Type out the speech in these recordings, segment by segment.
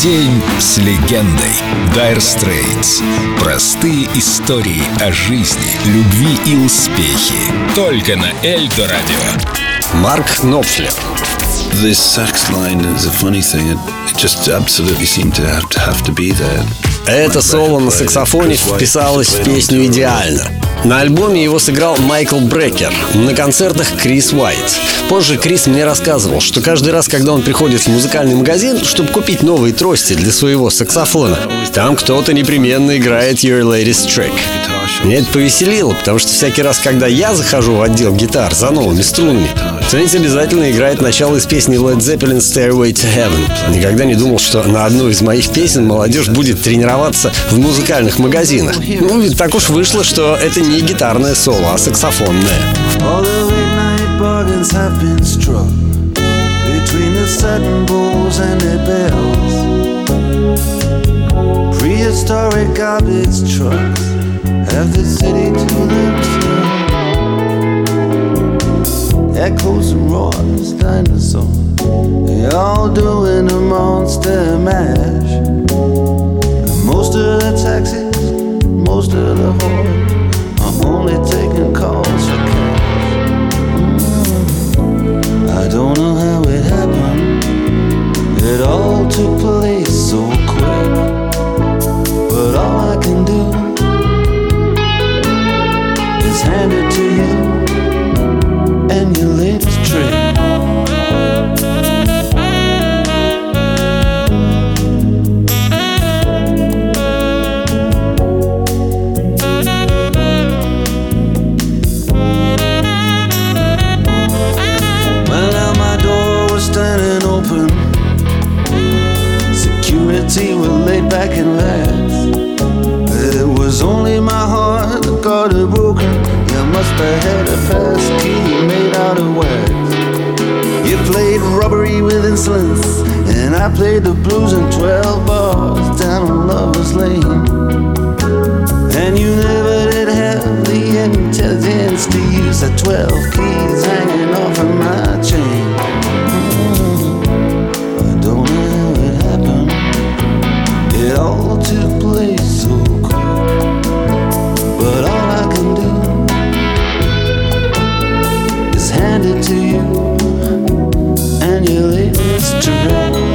День с легендой. Dire Straits. Простые истории о жизни, любви и успехе. Только на Эльдо Радио. Марк Knopfler. This sax line is a funny thing. It just absolutely seemed to have to be there. Это соло на саксофоне вписалось в песню идеально. На альбоме его сыграл Майкл Брекер, на концертах Крис Уайт. Позже Крис мне рассказывал, что каждый раз, когда он приходит в музыкальный магазин, чтобы купить новые трости для своего саксофона, там кто-то непременно играет Your Latest Trick. Меня это повеселило, потому что всякий раз, когда я захожу в отдел гитар за новыми струнами, кто-нибудь обязательно играет начало из песни Led Zeppelin Stairway to Heaven. Никогда не думал, что на одну из моих песен молодежь будет тренироваться в музыкальных магазинах. Ну, ведь так уж вышло, что это не гитарное соло, а саксофонное. Echoes and roars, dinosaurs, they all doing a monster mash. And most of the taxis, most of the whores are only taking calls for cash. I don't know how it happened. It all took place so quick. But all I can do is hand it to you and your latest trick. Well, now my door was standing open. Security were laid back and relaxed. It was only my heart that got it broken. You must have had a pass key made out of wax. You played robbery with insolence, and I played the blues in 12 bars down on Lover's Lane. And you never did have the intelligence to use the 12 keys hanging off of my chain. I don't know how it happened. It all took place so quick. But all I can do is hand it to you and your latest trick.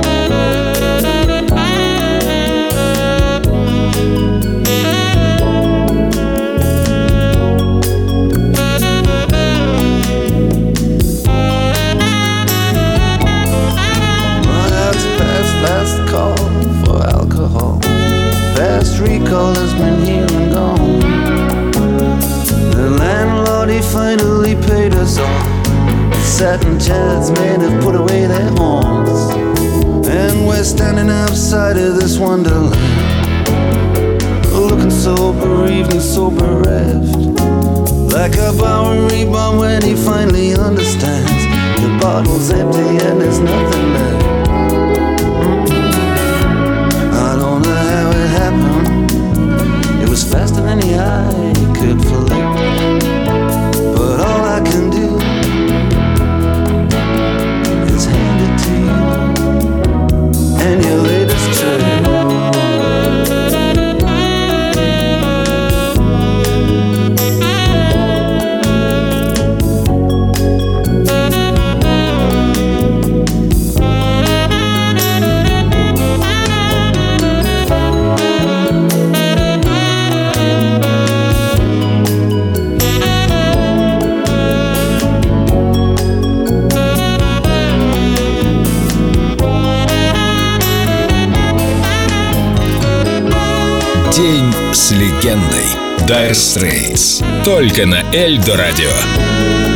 Last call for alcohol. Fast recall has been here and gone. The landlord, he finally paid us off. Satin chairs made have put away their horns. And we're standing outside of this wonderland, looking so bereaved and so bereft, like a Bowery bomb when he finally understands the bottle's empty and there's nothing left. Faster than the eye could flick. But all I can do is hand it to you and your latest trick. День с легендой. Dire Straits. Только на Эльдо Радио.